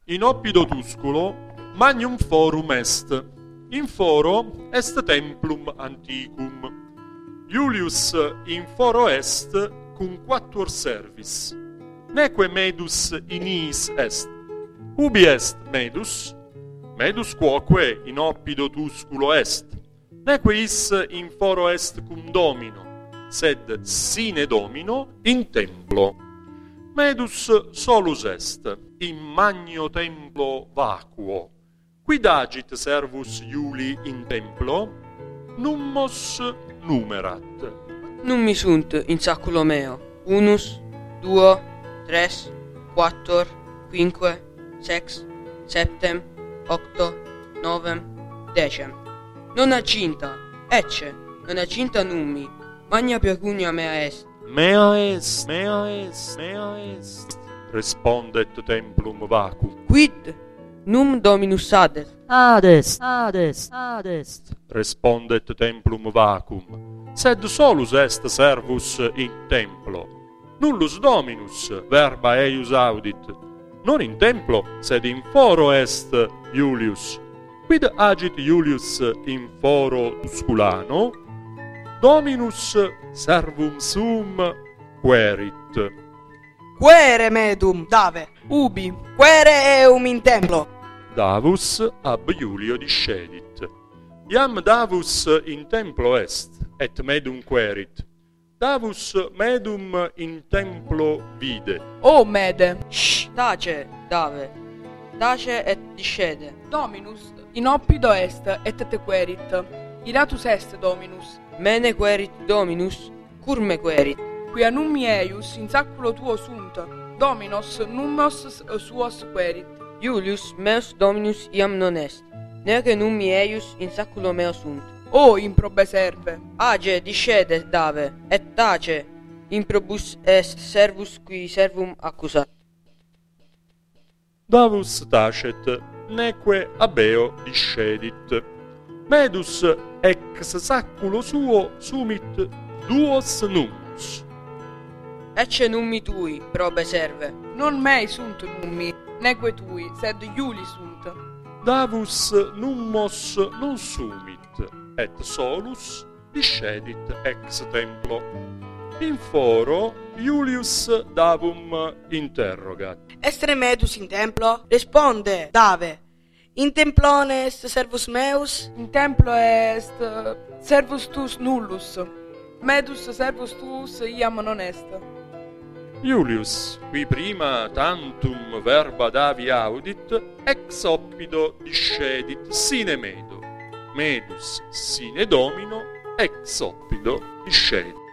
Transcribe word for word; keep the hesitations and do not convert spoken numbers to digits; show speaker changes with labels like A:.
A: In oppido tusculo magnum forum est, in foro est templum antiquum. Iulius in foro est cum quattuor servis. Neque medus in iis est. Ubi est medus? Medus quoque in oppido tusculo est. Neque is in foro est cum domino, sed sine domino in templo. Medus solus est, in magno templo vacuo. Quid agit servus Iuli in templo? Nummos numerat.
B: Nummi sunt in saculo meo, unus, duo, tres, quattor, quinque, sex, septem, octo, novem, decem. Non agginta, ecce, non agginta nummi, magna pecunia mea est.
A: Mea est, mea est, mea est, respondet templum vacuum.
B: Quid num dominus adest?
C: Adest, adest, adest,
A: respondet templum vacuum. Sed solus est servus in templo. Nullus dominus verba eius audit. Non in templo, sed in foro est Iulius. Quid agit Iulius in foro tusculano? Dominus servum sum querit.
D: Quere medum, Dave, ubi, quere eum in templo.
A: Davus ab Iulio discedit. Iam Davus in templo est, et medum querit. Davus medum in templo vide.
D: O Mede,
B: Shh, tace, Dave, tace et discede.
D: Dominus in oppido est et te querit. Iratus est Dominus,
B: Mene querit Dominus, cur me querit.
D: quia nummi eius in saculo tuo sunt, Dominos nummos suos querit.
B: Iulius meus Dominus iam non est, neque nummi eius in saculo meo sunt.
D: O improbe serve,
B: Age discede, Dave, et tace, improbus est servus qui servum accusat.
A: Davus tacet, neque abeo discedit. Medus ex saculo suo sumit duos nummus.
B: Ecce nummi tui, probe serve.
D: non mei sunt nummi, neque tui, sed Iuli sunt.
A: Davus nummos non sumit, et solus discedit ex templo. In foro Iulius Davum interrogat.
E: Estre medus in templo? Responde, Dave. In templone est servus meus?
D: In templo est servus tuus nullus, medus servus tuus iam non est.
A: Iulius, qui prima tantum verba Davi audit, ex oppido discedit sine medo, medus sine domino, ex oppido discedit.